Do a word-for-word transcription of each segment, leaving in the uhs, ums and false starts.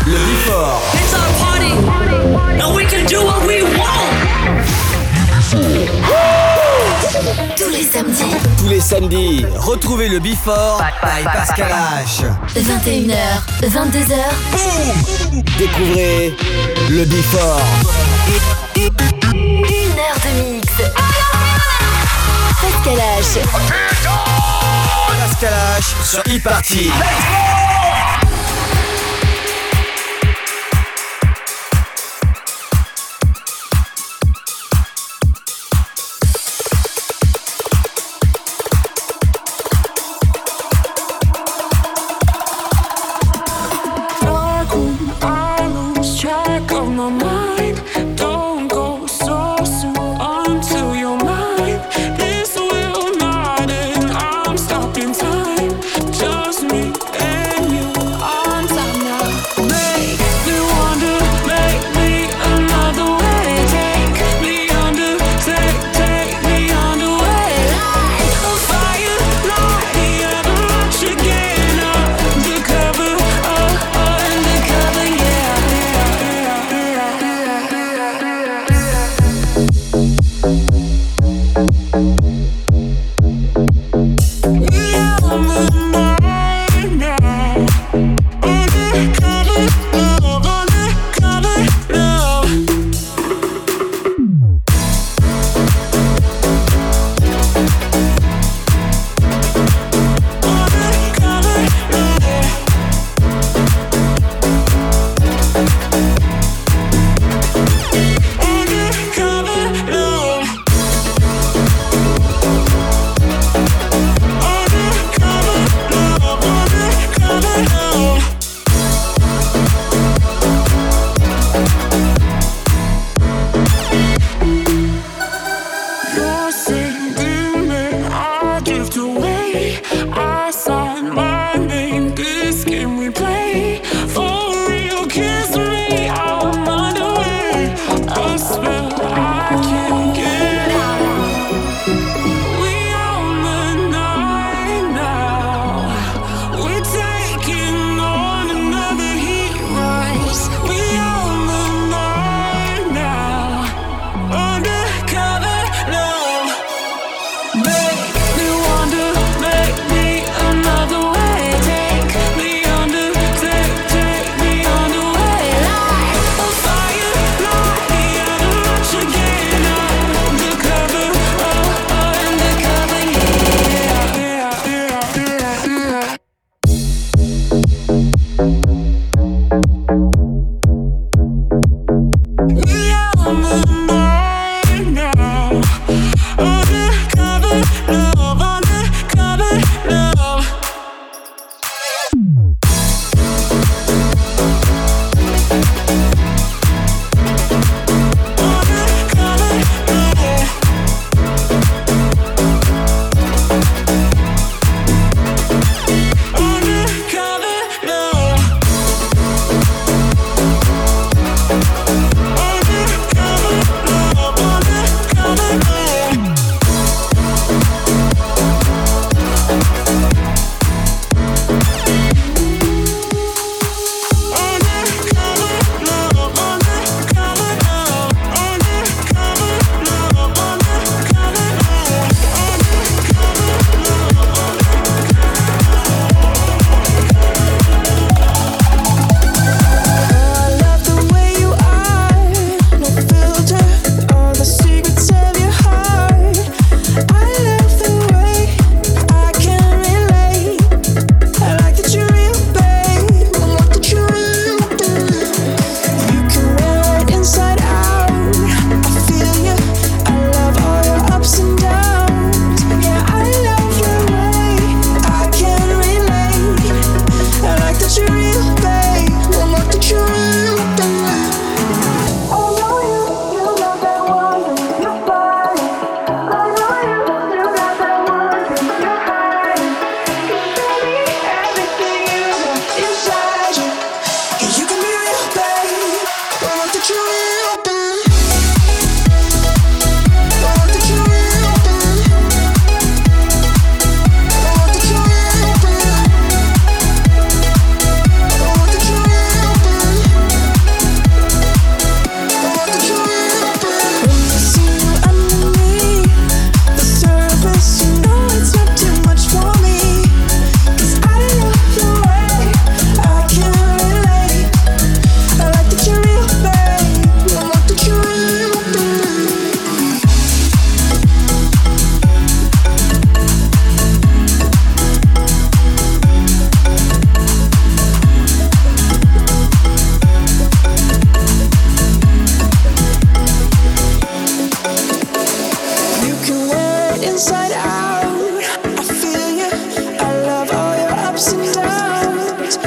Le Before. It's our party, and we can do what we want. Tous les samedis. Tous les samedis, retrouvez le Before by Pascal H. vingt et une heures, vingt-deux heures. Boum. Découvrez le Before. Une heure de mix. Pascal H. Pascal H sur e-party. Time, just me and you.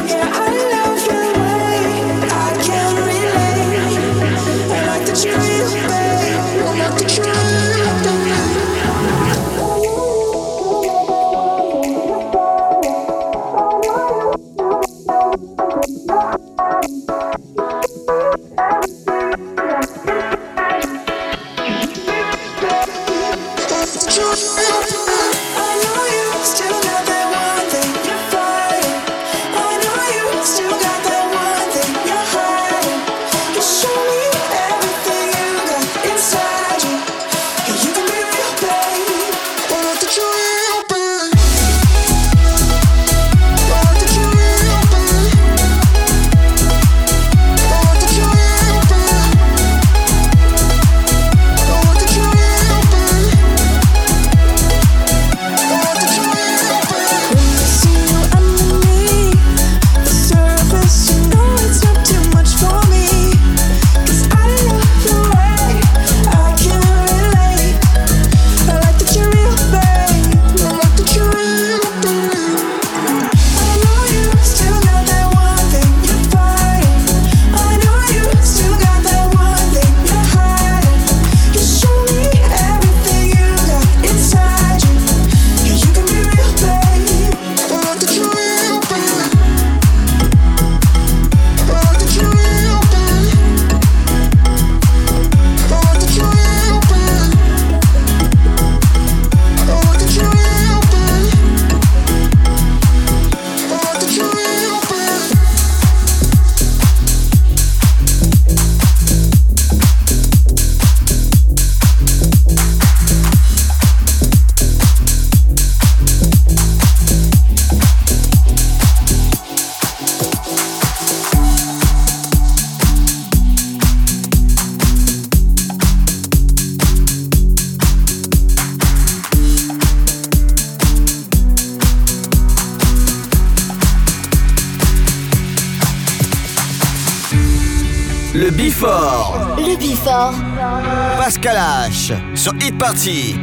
Le Before. Le Before. Pascal H sur Hit Party.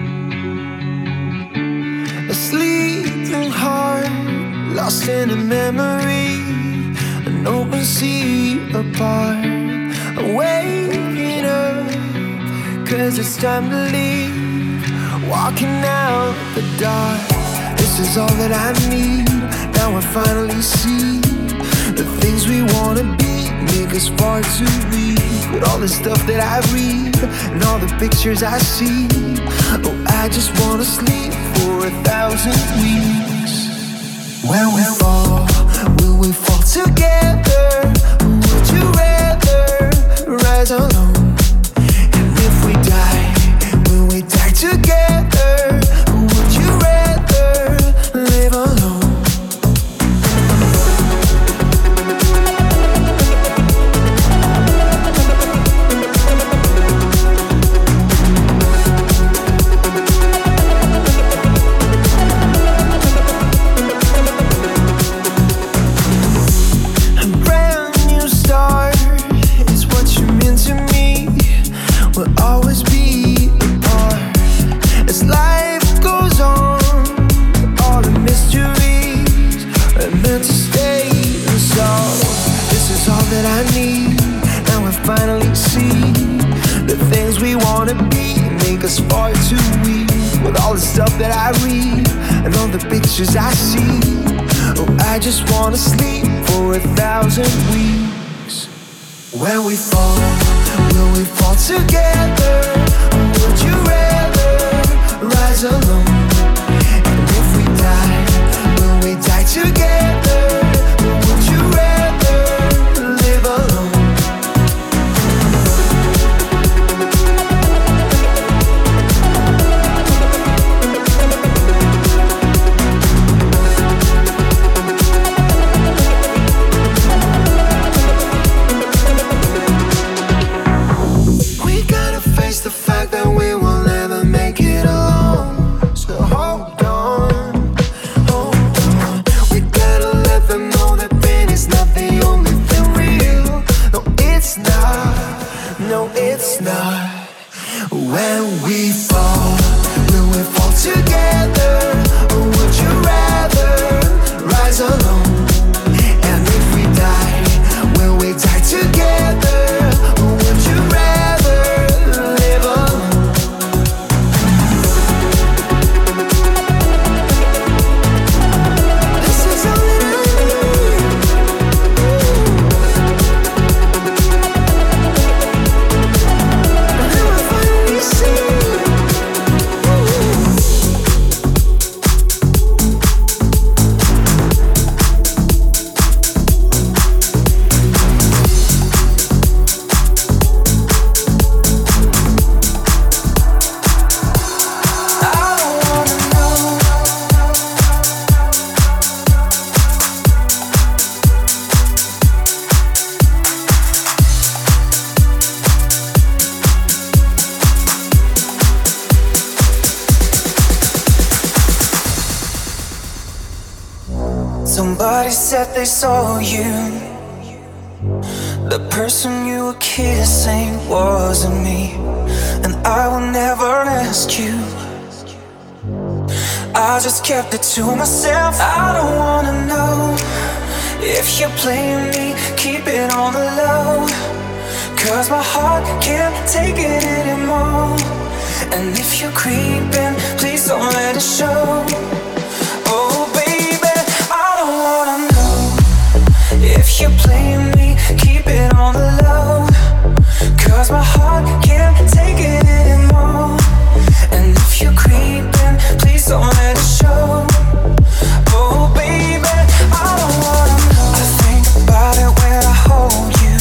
A sleeping heart, lost in a memory, an open sea apart. I'm waking up, cause it's time to leave, walking out the dark. This is all that I need, now I finally see the things we wanna be make us far too weak. With all the stuff that I read and all the pictures I see, oh, I just wanna sleep for a thousand weeks. When we fall, will we fall together? Would you rather rise alone? And if we die, will we die together? Would you rather live alone? Finally see the things we wanna be make us far too weak. With all the stuff that I read and all the pictures I see, oh, I just wanna sleep for a thousand weeks. When we fall, will we fall together? Or would you rather rise alone? And if we die, will we die together? Or would you rather live alone? The fact that we will never make it alone. said they saw you. The person you were kissing wasn't me, and I will never ask you. I just kept it to myself. I don't wanna know if you're playing me, keep it on the low, 'cause my heart can't take it anymore. And if you're creeping, please don't let it show. Oh baby, I don't wanna know if you're playing me, keep it on the low, 'cause my heart can't take it anymore. And if you're creeping, please don't let it show. Oh baby, I don't wanna know. I think about it when I hold you.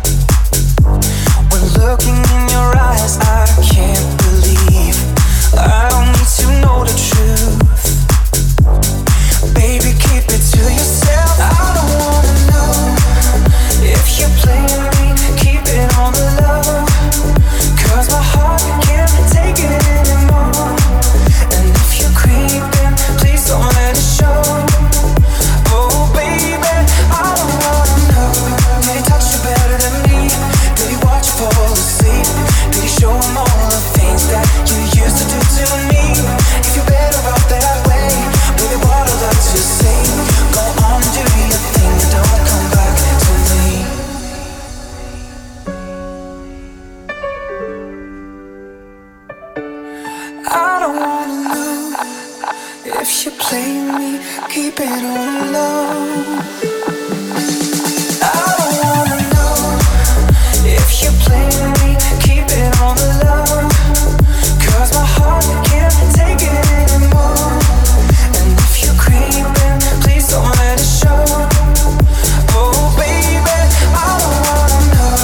When looking in your eyes, I can't believe I don't need to know the truth. Baby, keep it to yourself. I don't wanna know if you're playing me, keep it on the low, 'cause my heart can't take it anymore. And if you're creeping, please don't let it show. Oh baby, I don't wanna know. Did he touch you better than me? Did he watch you fall asleep? Did he show him all the things that you used to do to me? If you're better off that way, baby, what I'd like to say, go on, do your thing, don't come back to me. I don't wanna know if you play me, keep it on low. I don't wanna know if you play me, keep it on the low, 'cause my heart can't take it anymore. And if you're creeping, please don't let it show. Oh baby, I don't wanna know.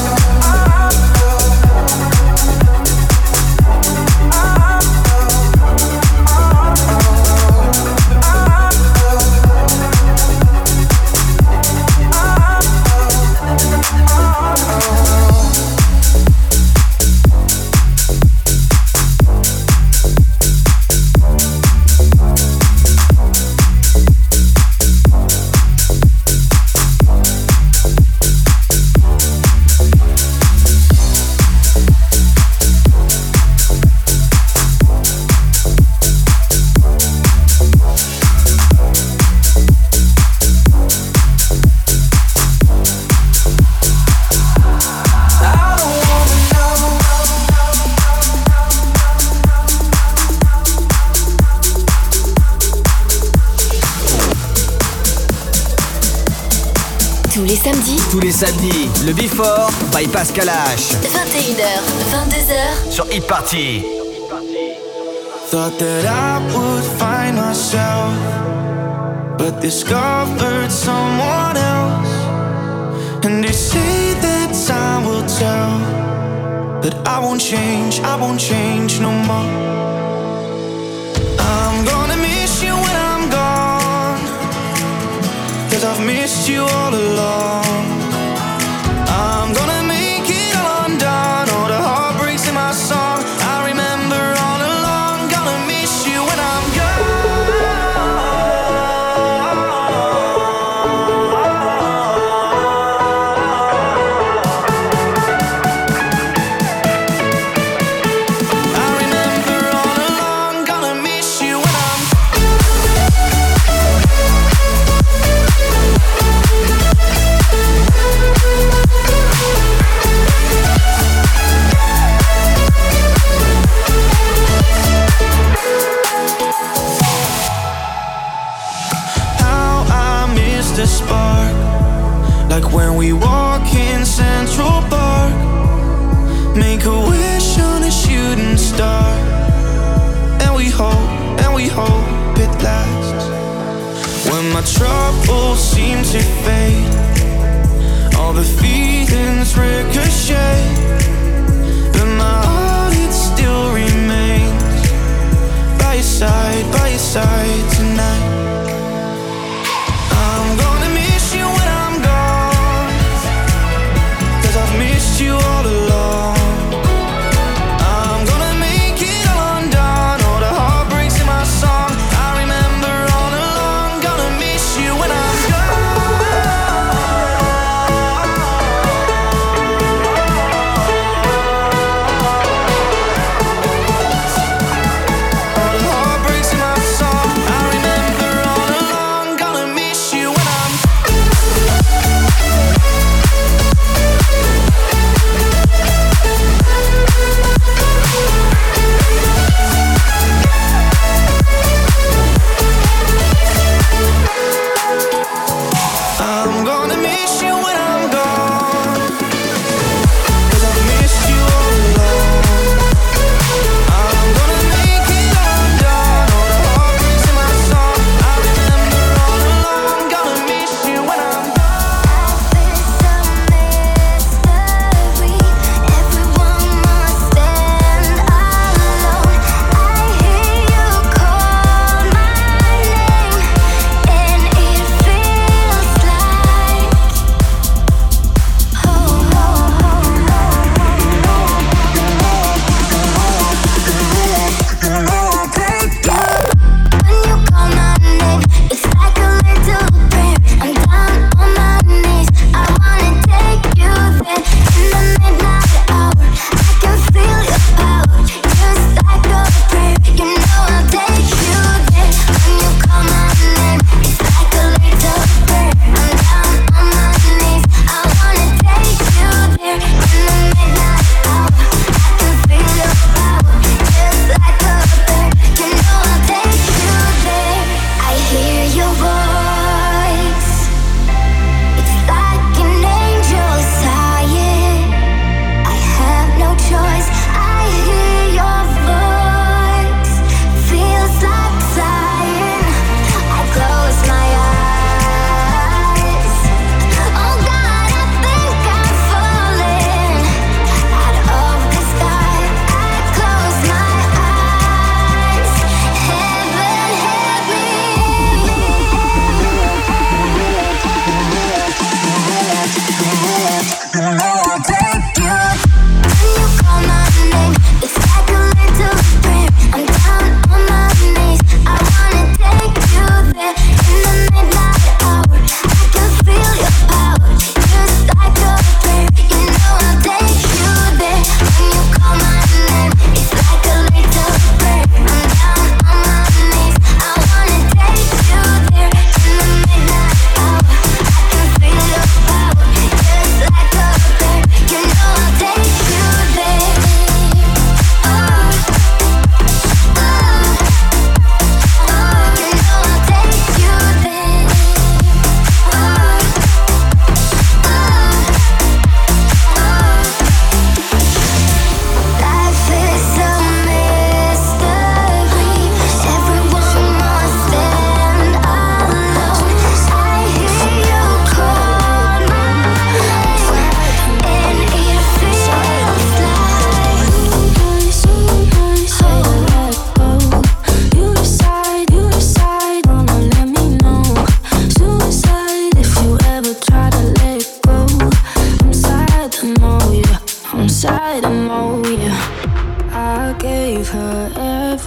Tous les samedis, Tous les samedis, le Before by Pascal H. vingt et une heures, vingt-deux heures. Sur Hit Party. Thought that I would find myself, but discovered someone else. And they say that time will tell, but I won't change, I won't change no more. I'm gonna miss you when I'm gone, 'cause I've missed you all along. I'm gonna make it all undone, all the heartbreaks in my song. I remember all along, gonna miss you when I'm I remember all along, gonna miss you when I'm How I miss the spark, like when we walk in Central Park. Make a wish on a shooting star, and we hope, and we hope it lasts. When my troubles seem to fade, all the feelings ricochet, but my heart, it still remains by your side, by your side tonight. I'm gonna miss you when I'm gone, 'cause I've missed you all along. I'm gonna make it all undone, all the heartbreaks in my song. I remember all along, gonna miss you when I'm gone.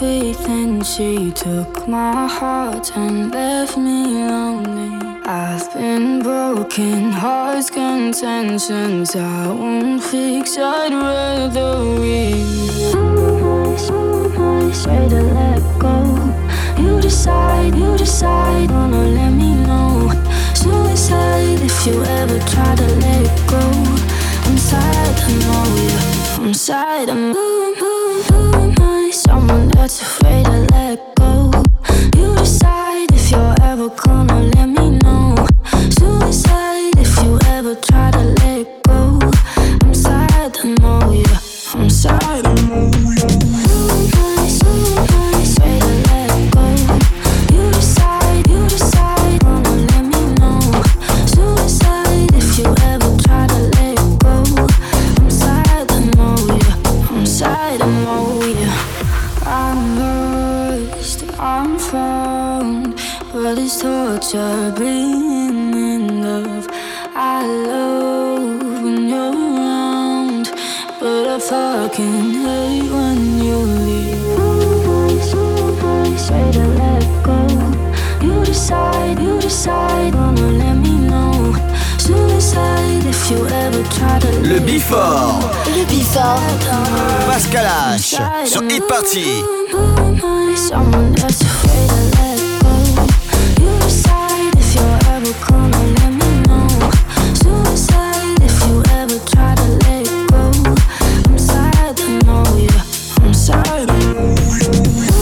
feet, then she took my heart and left me lonely. I've been broken, hearts contentions I won't fix, I'd rather leave. Who am I, so am I, say to let go. You decide, you decide, wanna let me know. Suicide if you ever try to let go. I'm sad, I know you, I'm sad, I'm who, who, who am I, someone that's afraid to let go. You decide if you're ever gonna let me know. Suicide if you ever try to let go. I'm sad, I know you, I'm sad, I know you. Who am I, so am I, say to let go. You decide, you decide, wanna let me know. Suicide if you ever try to let go. I'm sad, I know you, I'm sad, I know you. I'm lost, I'm found, but it's torture being in love. I love when you're around, but I fucking hate when you leave. Who am I, so am I, say to let go. You decide, you decide, wanna let me know. Suicide if you ever try to let Le Before. Le Before. Pascal H sur Hit Party. Someone that's afraid to let go. You decide if you're ever gonna let me know. Suicide if you ever try to let go. I'm sad, I know you, I'm sad, I know you.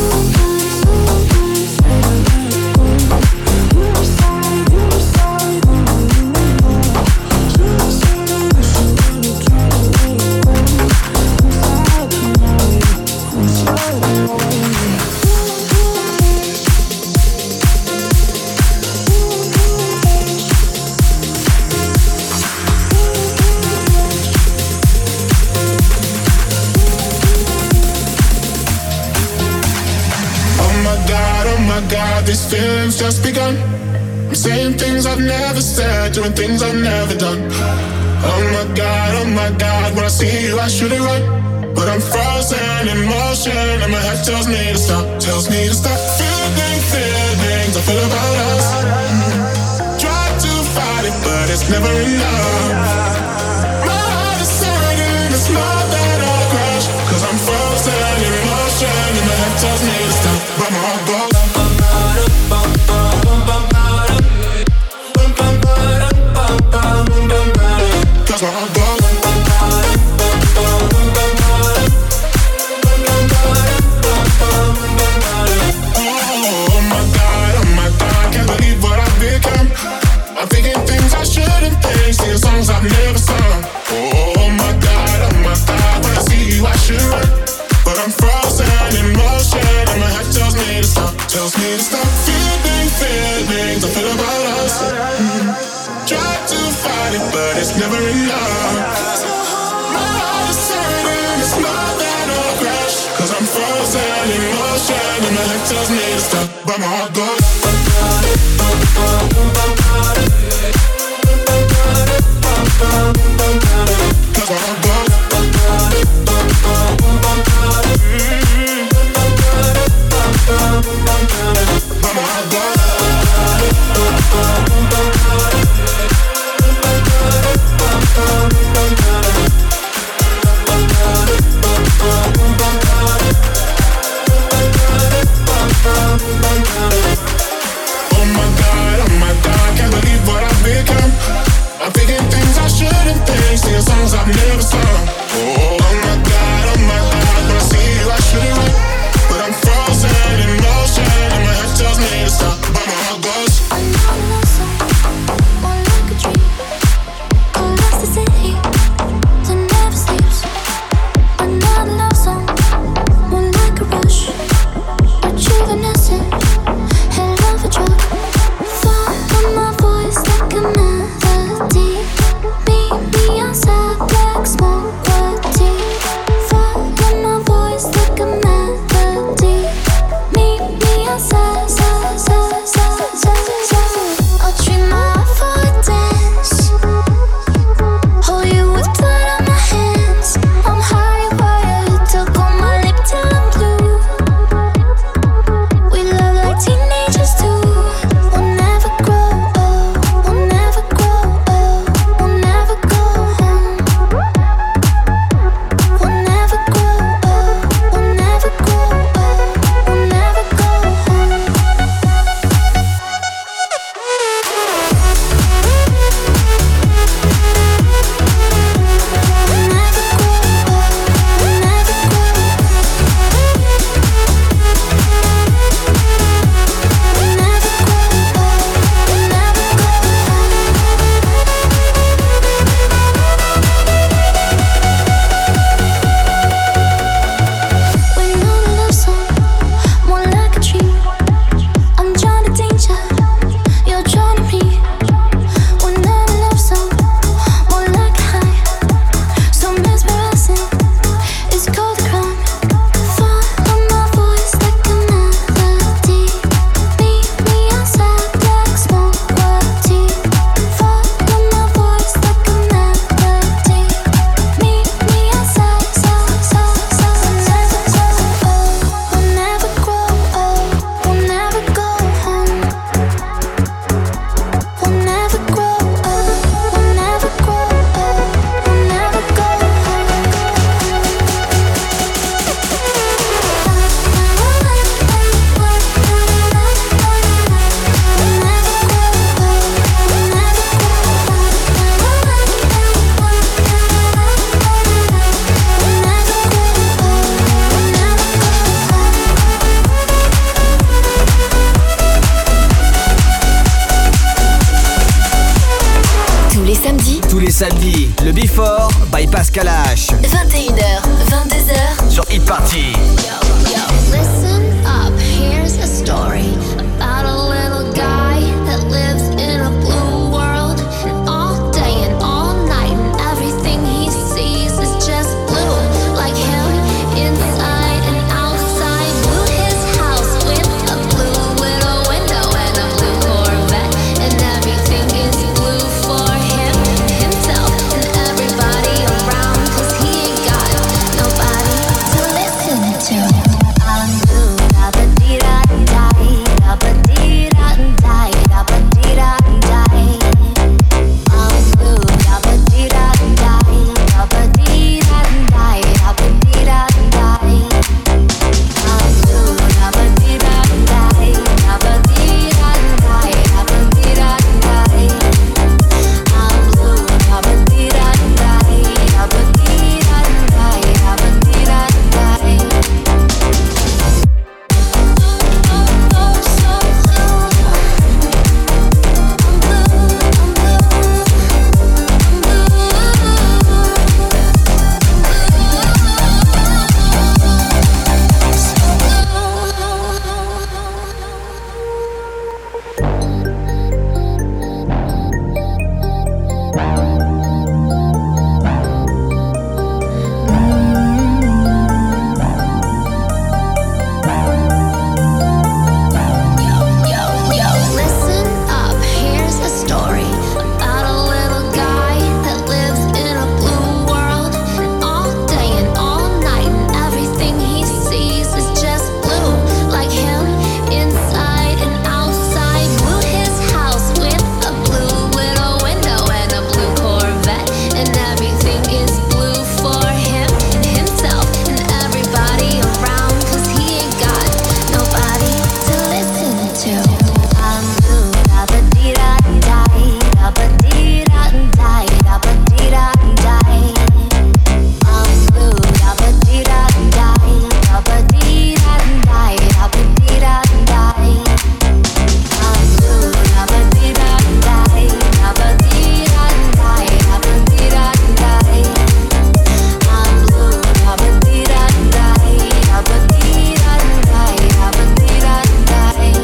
These feelings just begun. I'm saying things I've never said, doing things I've never done. Oh my God, oh my God, when I see you I should it right, but I'm frozen in motion and my head tells me to stop, tells me to stop. Feeling feelings I feel about us. Try to fight it, but it's never enough. My heart is hurting, it's not that I'll crash, cause I'm frozen in motion and my head tells me to stop, but my heart goes. That's where I go. Oh my God, oh my God, can't believe what I've become. I'm thinking things I shouldn't think, singing songs I've never sung. Oh my God, oh my God, when I see you I should run, but I'm frozen in motion and my head tells me to stop, tells me to stop. Feeling feelings I feel about us. Mm-hmm. Try to fight it, but it's never enough. My heart is hurting, it's not that I'll crash, cause I'm frozen in motion and my head tells me to stop, but my heart goes. Cause my heart goes. But my heart goes. Oh my God, oh my God, can't believe what I've become. I'm thinking things I shouldn't think, singing songs I've never sung. Oh my God, oh my God, when I see you I shouldn't wait, but I'm frozen in motion and my head tells me to stop, but my heart goes. Another song, more like a dream, across the city that never sleeps. Another love song, more like a rush, rejuvenescent, hell of a drug. Follow my voice like a melody. Meet me outside, black smoke. Tous les samedis, le Before by Pascal H. vingt et une heures, vingt-deux heures sur Hit Party. Listen up, here's a story about a little guy that lives in a blue world. And all day and all night, and everything he sees is just blue. Like him, inside and outside. Blew his house with a blue little window and a blue Corvette. And everything is blue for him, himself, and everybody around. Cause he ain't got nobody to listen to. I'm blue, da ba dee da die, da ba dee da die, da ba dee da die. I'm blue, da ba dee da die, da ba dee da die, da ba dee da die. I'm blue, da ba dee da die, da ba dee da die, da ba dee da die. I'm blue, da ba dee da die, da ba dee da die, da ba dee da die. Listen up, here's a story about a little guy that lives in a blue world. And all day and all night, and everything he sees is just blue. Like him, inside and outside. Blew his house with a blue little window and a blue Corvette. And everything is blue for him, and himself, and everybody around. Cause he ain't got nobody to listen to. I'm blue, da ba dee da die, da ba dee da die, da ba dee da die. I'm blue, da ba dee da die, da ba dee da die, da ba dee da die. I'm blue, da ba dee da die, da ba dee da die, da ba dee da die. I'm blue, da ba dee da die, da ba dee da die, da ba dee da die.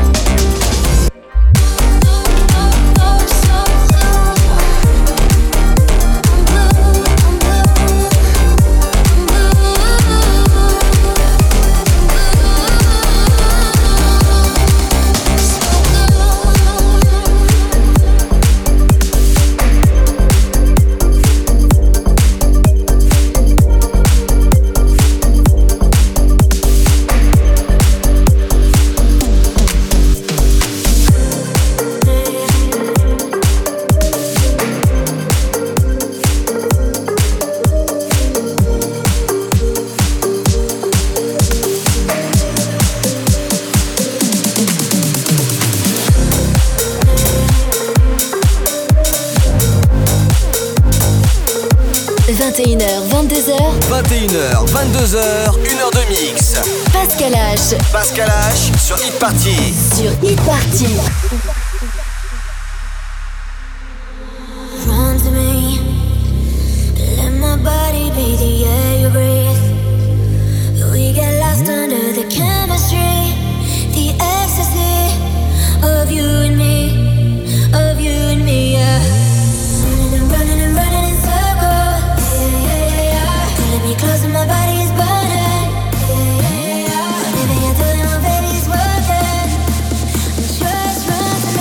vingt et une heures, vingt-deux heures, vingt et une heures, vingt-deux heures, une heure de mix. Pascal H Pascal H sur Hit Party. sur Hit Party. Run to me, let my body be the air you breathe. We get lost under the chemistry, the ecstasy of you and me, of you and me, yeah. Running and running and running in circles, yeah, yeah, yeah, yeah. Pulling me close and my body is burning, yeah, yeah, yeah. Living until my baby's working. Just run to me.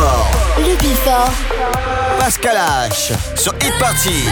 Before. Le Before. Pascal H sur Hit Party.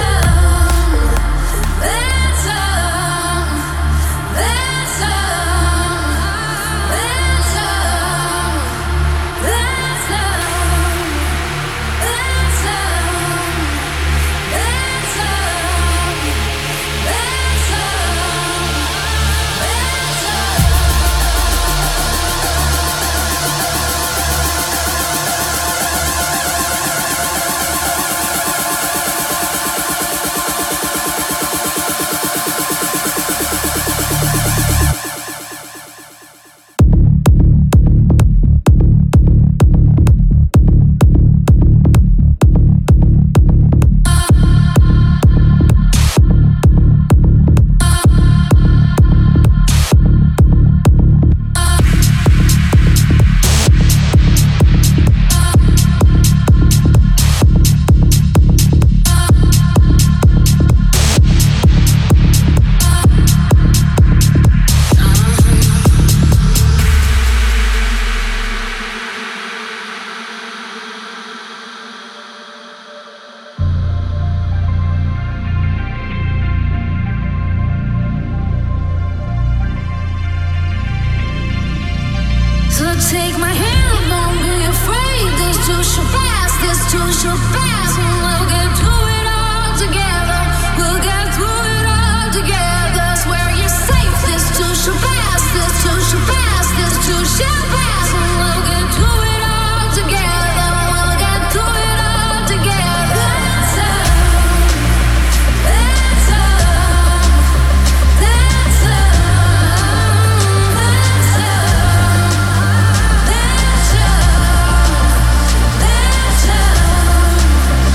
Take my hand, don't be afraid. This too shall pass, this too shall pass. And we'll get through it all together. We'll get through it all together. Swear you're safe. This too shall pass, this too shall pass, this too shall pass. And we'll get through it all together. We'll get through it all together. That's love. That's love. That's love. That's love. That's love.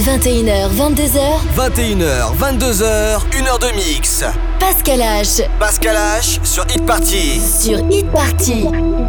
vingt et une heures, vingt-deux heures. vingt et une heures, vingt-deux heures, une heure de mix. Pascal H. Pascal H sur Hit Party. Sur Hit Party.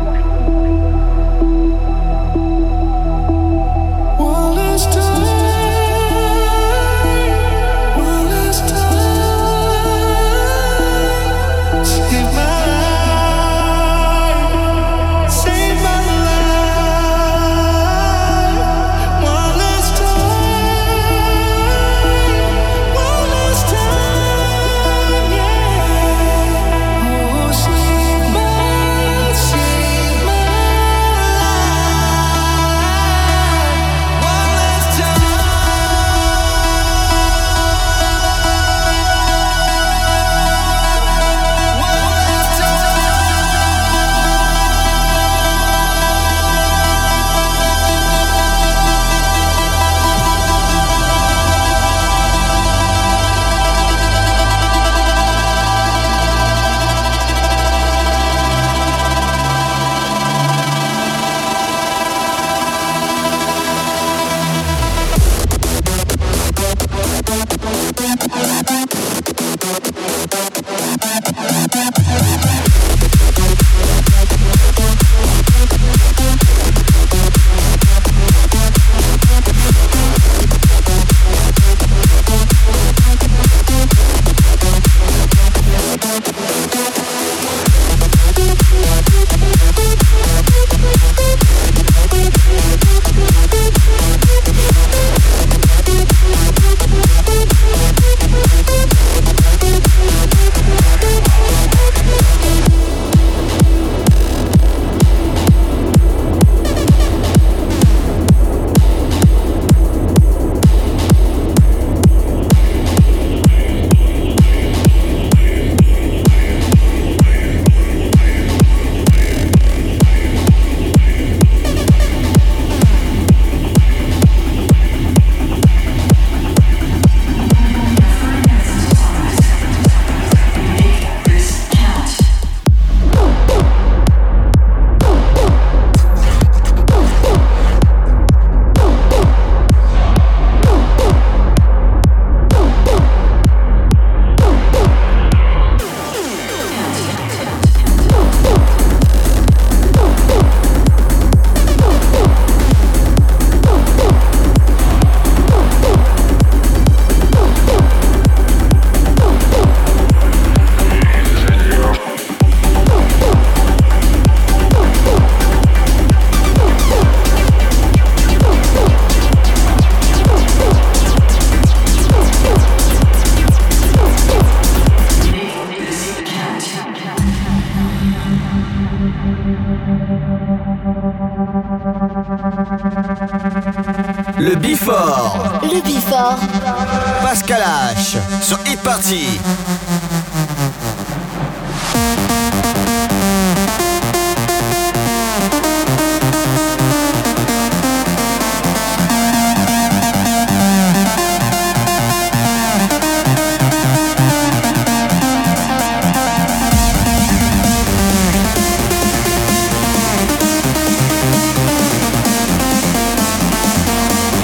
Le Before. Le Before. Pascal H sur Hit Party.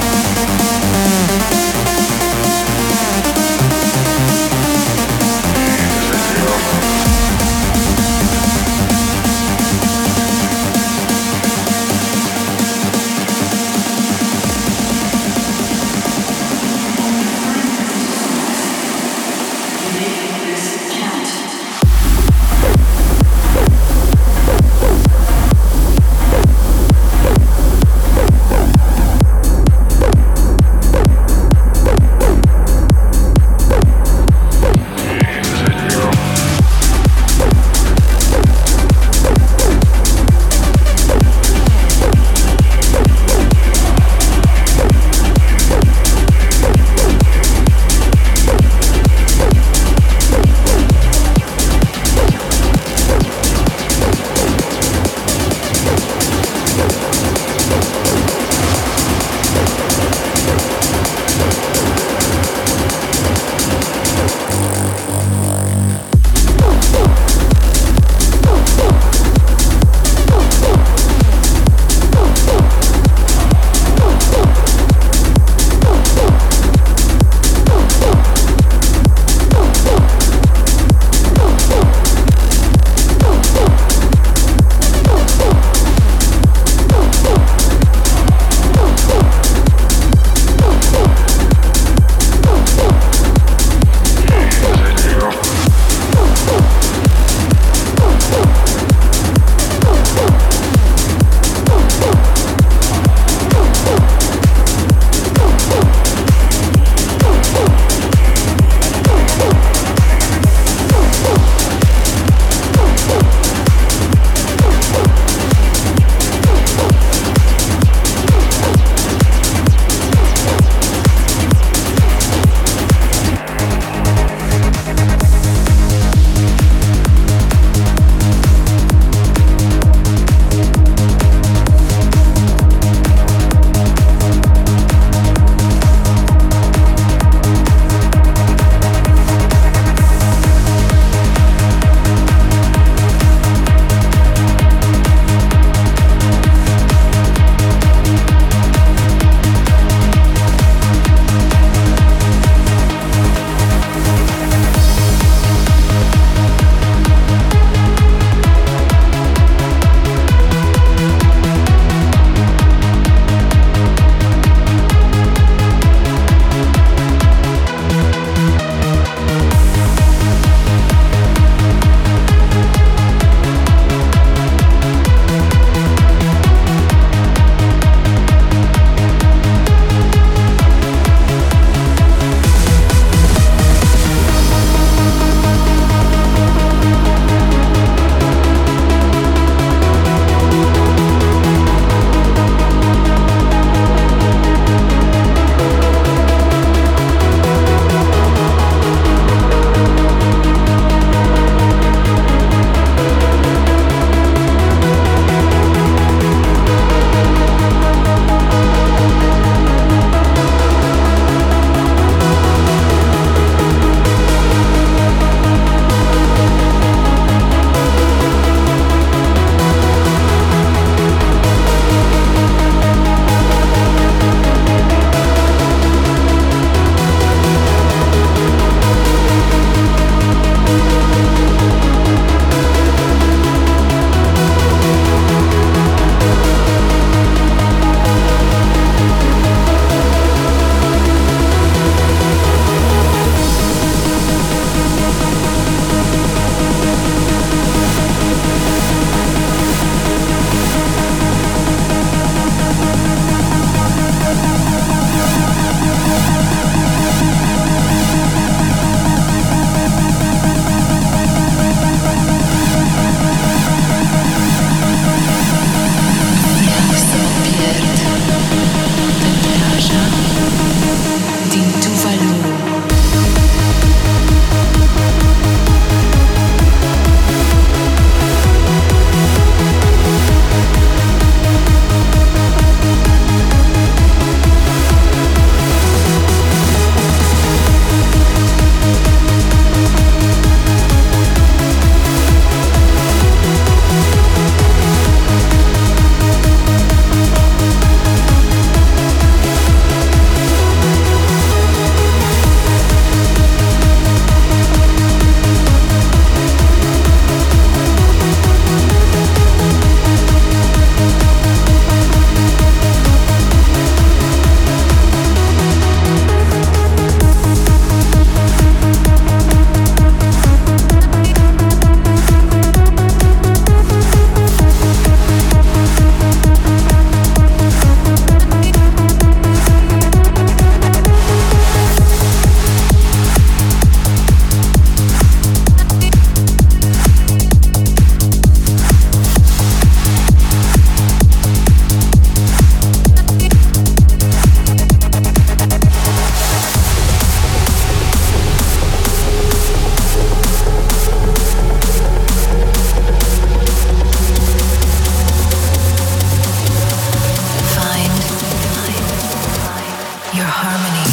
We'll harmony.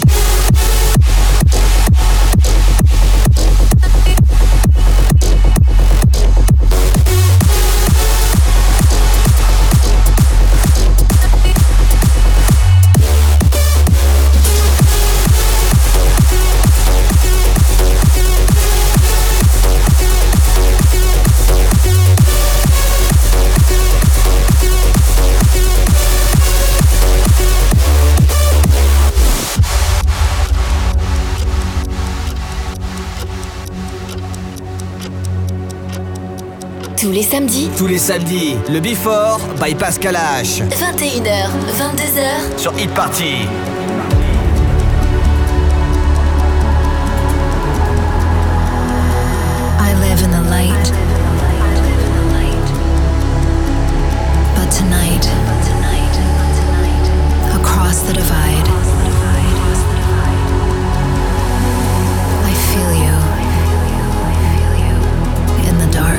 Tous les samedis, Tous les samedis, le Before by Pascal H. vingt et une heures, vingt-deux heures, Sur Hit Party. I live in the light. But tonight, across the divide, I feel you in the dark.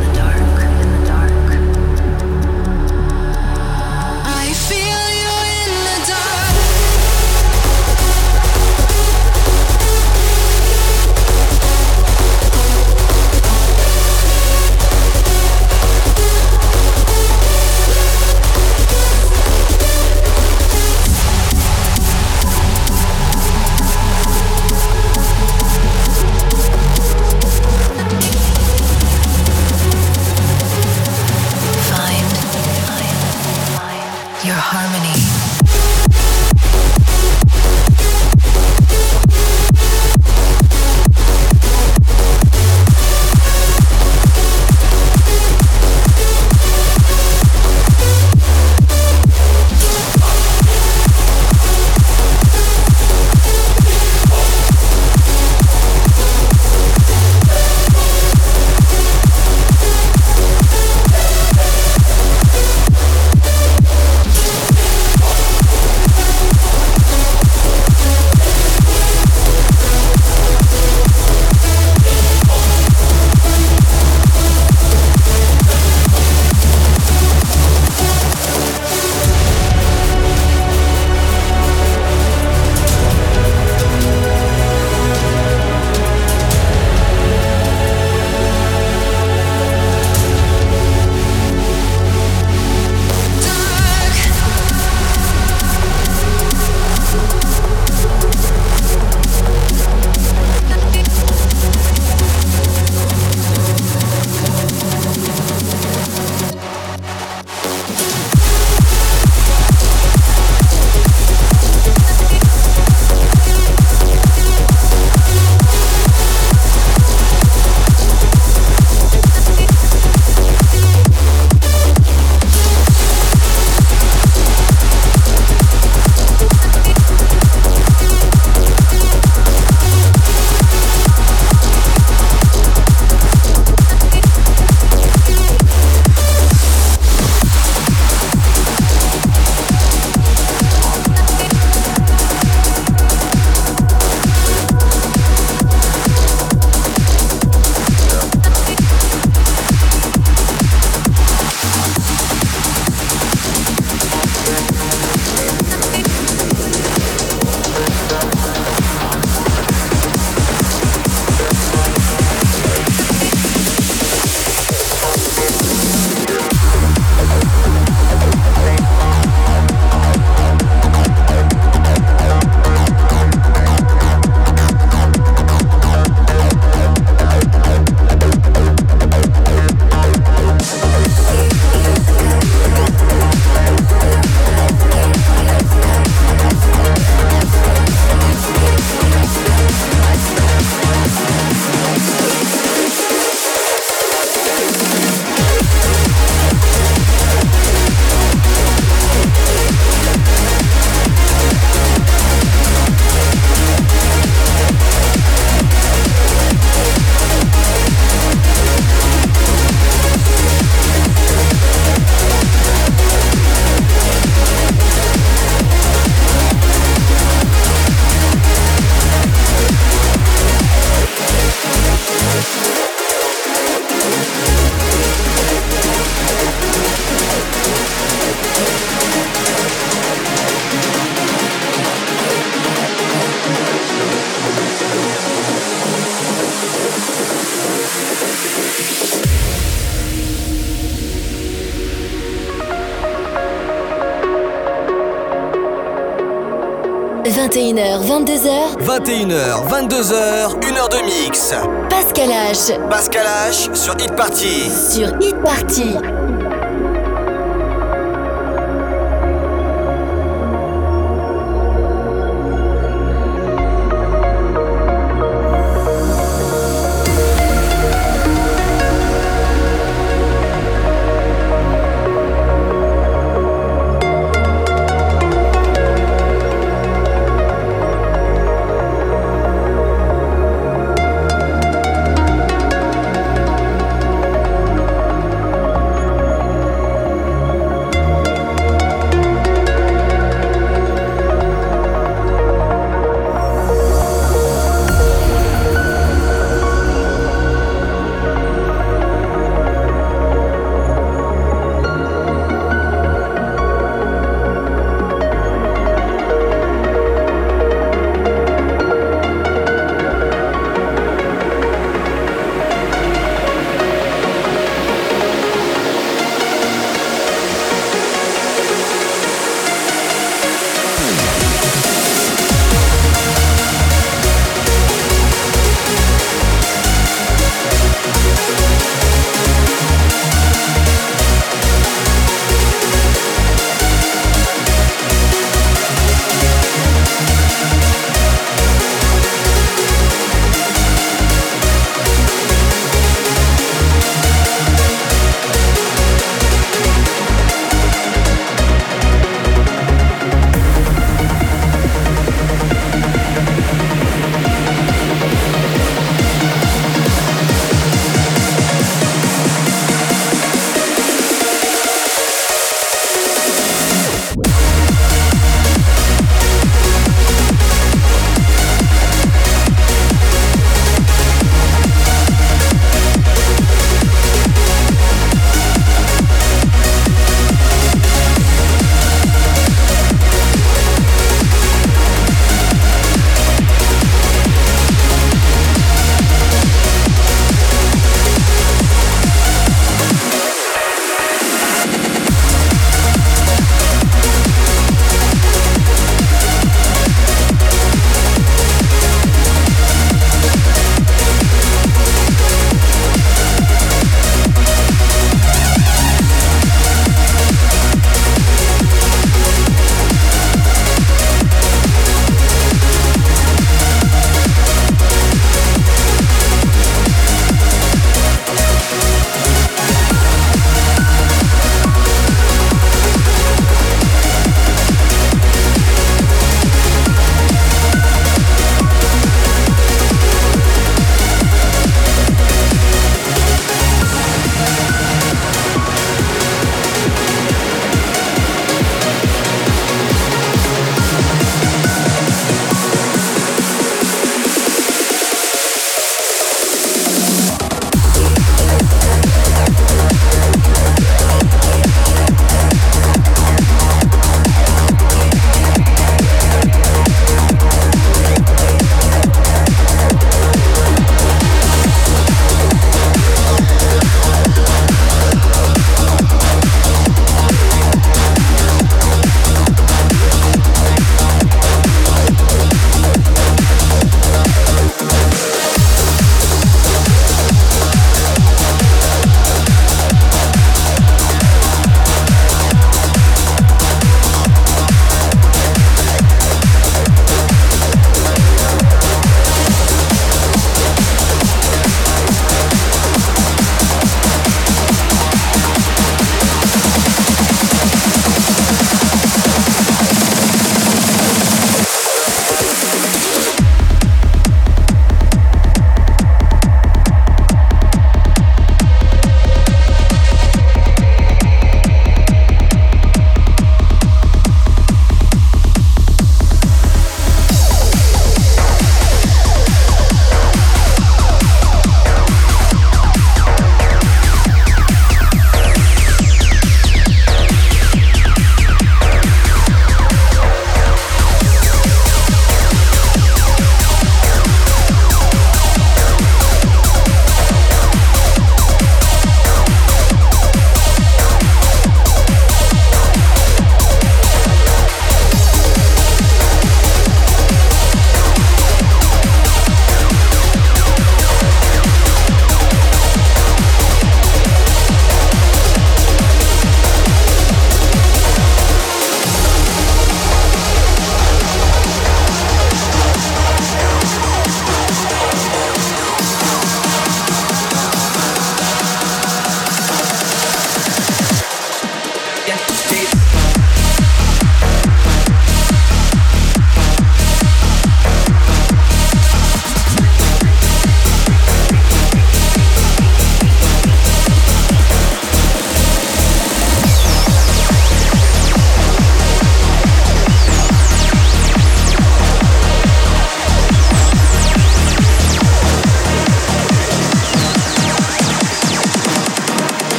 I feel you in the dark. Your harmony. vingt et une heures, vingt-deux heures. vingt et une heures, vingt-deux heures, une heure de mix. Pascal H. Pascal H sur Hit Party. Sur Hit Party.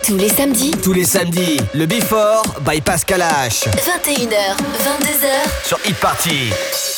Tous les samedis, Tous les samedis, le Before by Pascal H. vingt et une heures, vingt-deux heures. Sur Hit Party.